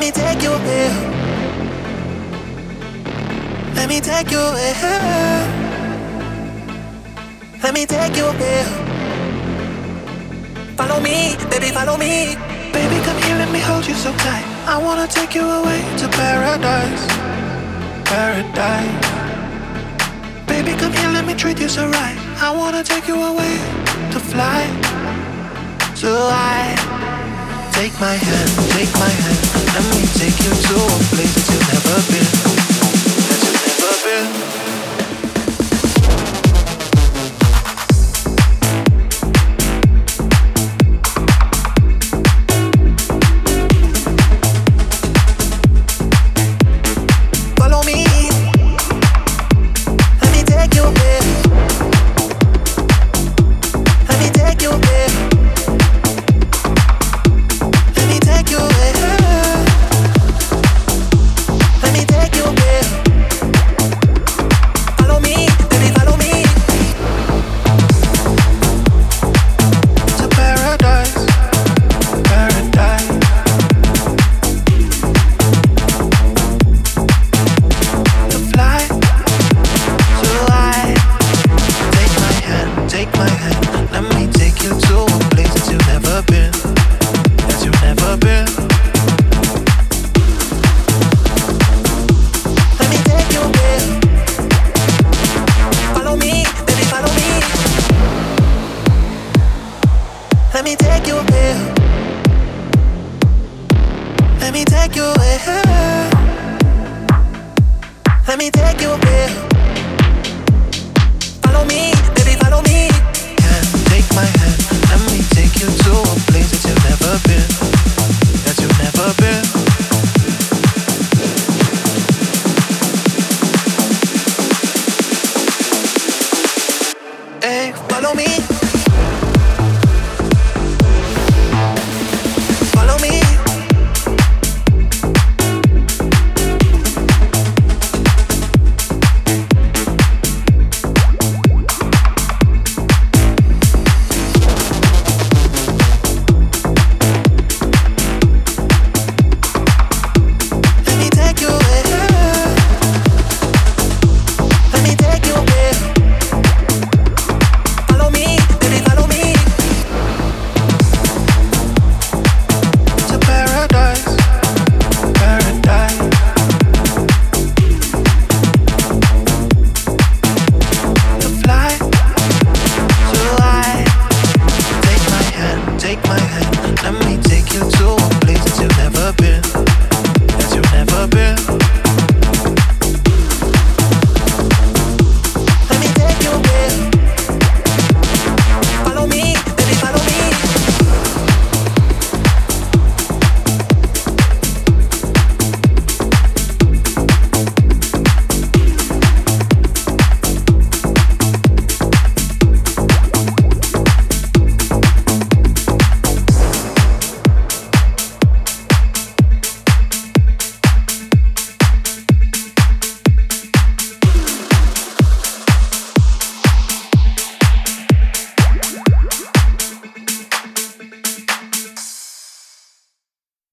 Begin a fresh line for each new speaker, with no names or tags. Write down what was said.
me take you there. Let me take you there. Let me take you there. Follow me, baby, follow me. Baby, come here, let me hold you so tight. I wanna take you away to paradise. Paradise. Baby, come here, let me treat you so right. I wanna take you away to fly. So I take my hand, let me take you to a place that you've never been, that you've never been. Let me take you there. Let me take you there. Let me take you there. Follow me, baby, follow me. Take my hand, let me take you to a place that you've never been, that you've never been. Hey, follow me. Take my hand.